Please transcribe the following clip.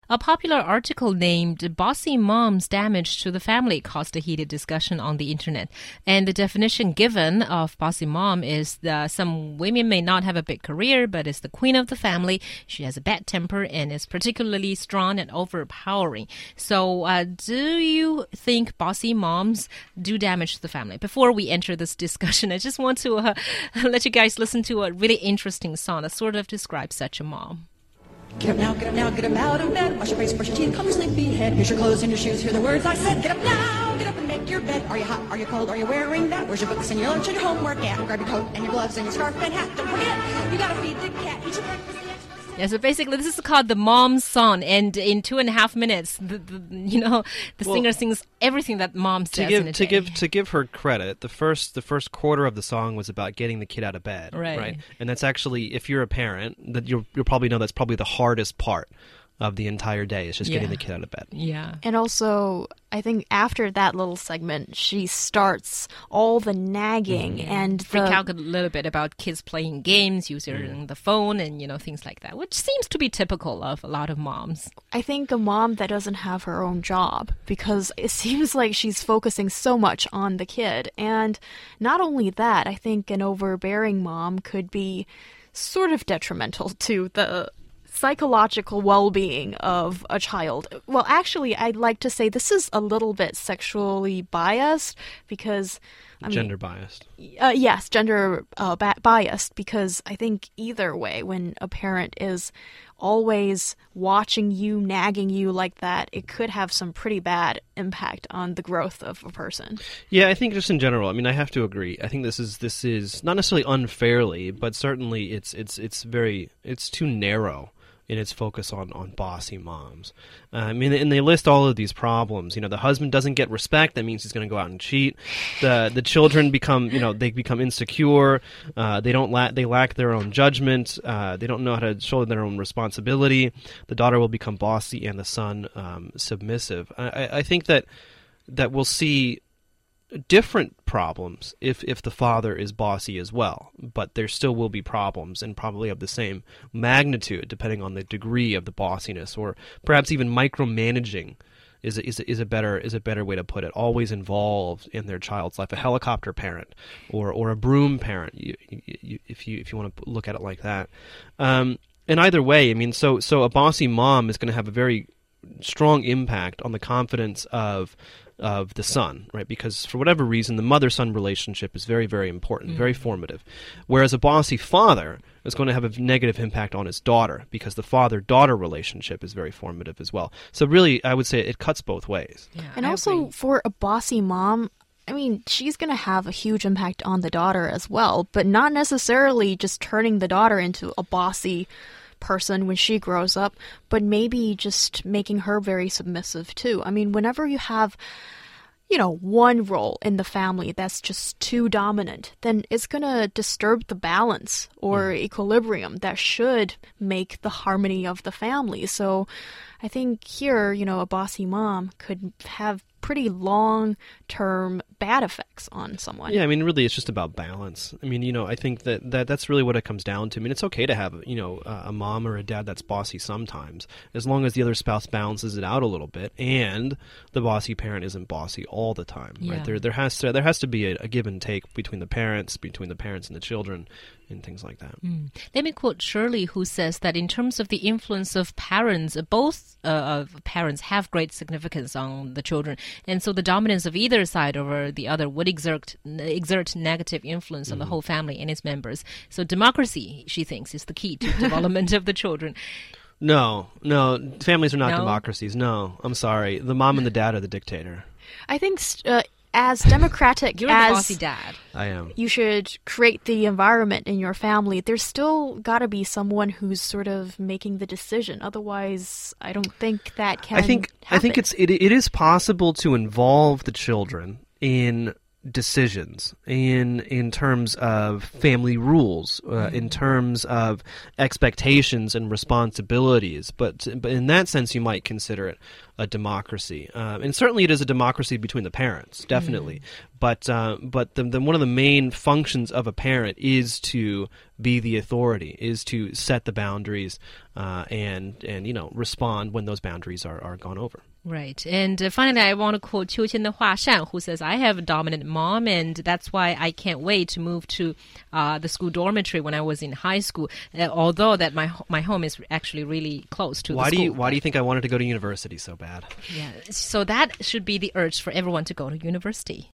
A popular article named Bossy Mom's Damage to the Family caused a heated discussion on the internet. And the definition given of bossy mom is that some women may not have a big career, but is the queen of the family. She has a bad temper and is particularly strong and overpowering. So do you think bossy moms do damage to the family? Before we enter this discussion, I just want to let you guys listen to a really interesting song that sort of describes such a mom. Get up now, get up out of bed. Wash your face, brush your teeth, comb your sleepy head. Here's your clothes and your shoes, hear the words I said. Get up now, get up and make your bed. Are you hot, are you cold, are you wearing that? Where's your books and your lunch and your homework at? Grab your coat and your gloves and your scarf and hat. Don't forget, you gotta feed the cat, eat your breakfast. Yeah, so basically this is called the Mom's Song, and in 2.5 minutes, the singer sings everything that mom says in a day. To give her credit, the first quarter of the song was about getting the kid out of bed, right? And that's actually, if you're a parent, that you'll probably know that's probably the hardest part of the entire day is just getting the kid out of bed. Yeah. And also, I think after that little segment, she starts all the nagging and freak out a little bit about kids playing games, using the phone, and things like that, which seems to be typical of a lot of moms. I think a mom that doesn't have her own job, because it seems like she's focusing so much on the kid. And not only that, I think an overbearing mom could be sort of detrimental to the psychological well-being of a child. Well, actually, I'd like to say this is a little bit sexually biased because... Gender biased. Yes, gender biased, because I think either way, when a parent is always watching you, nagging you like that, it could have some pretty bad impact on the growth of a person. Yeah, I think just in general, I have to agree. I think this is not necessarily unfairly, but certainly it's too narrow in its focus on bossy moms. And they list all of these problems. The husband doesn't get respect. That means he's going to go out and cheat. The children become insecure. They lack their own judgment. They don't know how to shoulder their own responsibility. The daughter will become bossy and the son submissive. I think that we'll see different problems if the father is bossy as well, but there still will be problems, and probably of the same magnitude depending on the degree of the bossiness, or perhaps even micromanaging is a better way to put it. Always involved in their child's life, a helicopter parent or a broom parent, if you want to look at it like that. And either way, so a bossy mom is going to have a very strong impact on the confidence of the son, right? Because for whatever reason, the mother-son relationship is very, very important, very formative. Whereas a bossy father is going to have a negative impact on his daughter, because the father-daughter relationship is very formative as well. So really, I would say it cuts both ways. Yeah, and also for a bossy mom, she's going to have a huge impact on the daughter as well, but not necessarily just turning the daughter into a bossy person when she grows up, but maybe just making her very submissive too. Whenever you have, one role in the family that's just too dominant, then it's going to disturb the balance or equilibrium that should make the harmony of the family. So I think here, a bossy mom could have pretty long-term bad effects on someone. Yeah, really it's just about balance. I think that's really what it comes down to. It's okay to have, a mom or a dad that's bossy sometimes, as long as the other spouse balances it out a little bit, and the bossy parent isn't bossy all the time, right? There has to be a give and take between the parents and the children, and things like that. Let me quote Shirley, who says that in terms of the influence of parents, both parents have great significance on the children, and so the dominance of either side over the other would exert negative influence on the whole family and its members. So democracy, she thinks, is the key to development of the children. No, families are not democracies. No, I'm sorry. The mom and the dad are the dictator. I think as democratic You're as the bossy dad. I am. You should create the environment in your family. There's still got to be someone who's sort of making the decision. Otherwise, I don't think that can happen. I think it is possible to involve the children in decisions, in terms of family rules, in terms of expectations and responsibilities. But in that sense, you might consider it a democracy, and certainly it is a democracy between the parents, definitely. But one of the main functions of a parent is to be the authority, is to set the boundaries and respond when those boundaries are gone over. Right. And finally, I want to quote Qiu Qian de Hua Shan, who says, I have a dominant mom, and that's why I can't wait to move to the school dormitory when I was in high school, although that my home is actually really close to the school. Why do you think I wanted to go to university so bad? Yeah. So that should be the urge for everyone to go to university.